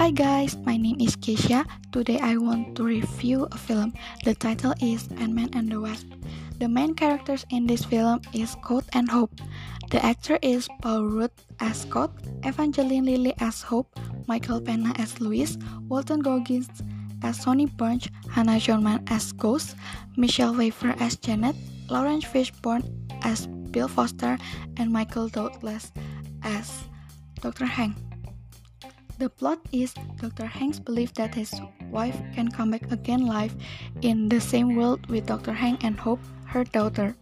Hi guys, my name is Keisha. Today I want to review a film. The title is Ant-Man and the Wasp. The main characters in this film is Scott and Hope. The actor is Paul Rudd as Scott, Evangeline Lilly as Hope, Michael Pena as Louis, Walton Goggins as Sonny Bunch, Hannah Johnman as Ghost, Michelle Pfeiffer as Janet, Lawrence Fishburne as Bill Foster, and Michael Douglas as Dr. Hank. The plot is Dr. Hank's belief that his wife can come back again live in the same world with Dr. Hank and Hope, her daughter.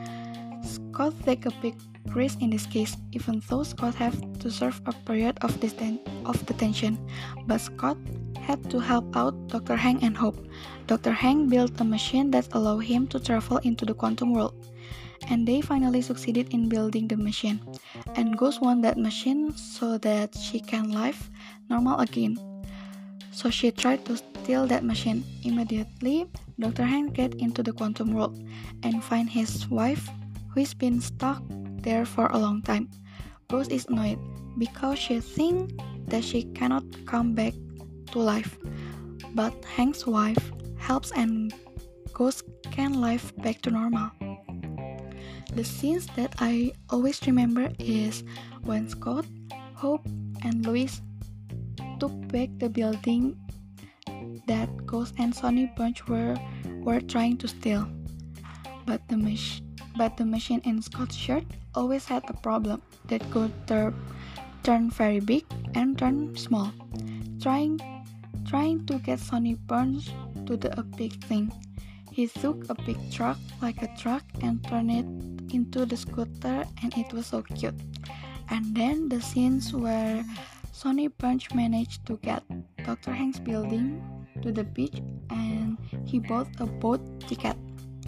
Scott takes a big risk in this case, even though Scott have to serve a period of detention. But Scott had to help out Dr. Hank and Hope. Dr. Hank built a machine that allowed him to travel into the quantum world. And they finally succeeded in building the machine. And Ghost won that machine so that she can live normal again. So she tried to steal that machine. Immediately, Dr. Hank get into the quantum world and find his wife, who's been stuck there for a long time. Ghost is annoyed because she thinks that she cannot come back to life. But Hank's wife helps and Ghost can live back to normal. The scenes that I always remember is when Scott, Hope, and Louis took back the building that Ghost and Sonny Bunch were trying to steal. But the machine in Scott's shirt always had a problem that could turn very big and turn small, trying to get Sonny Bunch to do a big thing. He took a big truck like a truck and turned it into the scooter, and it was so cute. And then the scenes where Sonny Bunch managed to get Dr. Hank's building to the beach and he bought a boat ticket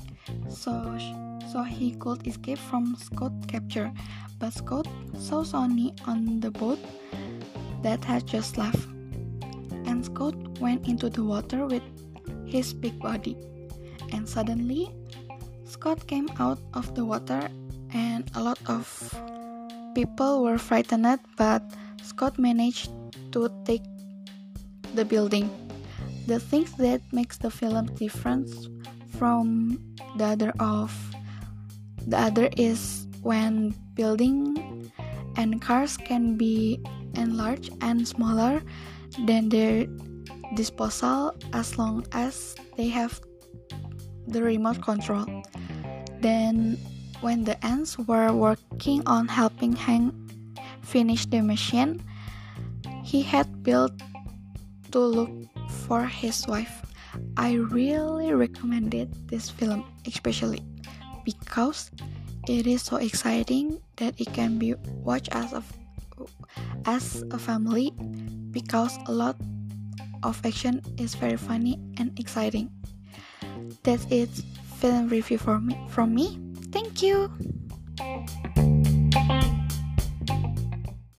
so he could escape from Scott's capture. But Scott saw Sonny on the boat that had just left, and Scott went into the water with his big body. And suddenly, Scott came out of the water and a lot of people were frightened, but Scott managed to take the building. The thing that makes the film different from the other is when building and cars can be enlarged and smaller than their disposal as long as they have the remote control. Then when the ants were working on helping Hank finish the machine he had built to look for his wife, I really recommended this film, especially because it is so exciting that it can be watched as a family, because a lot of action is very funny and exciting. That's it, film review from me. Thank you.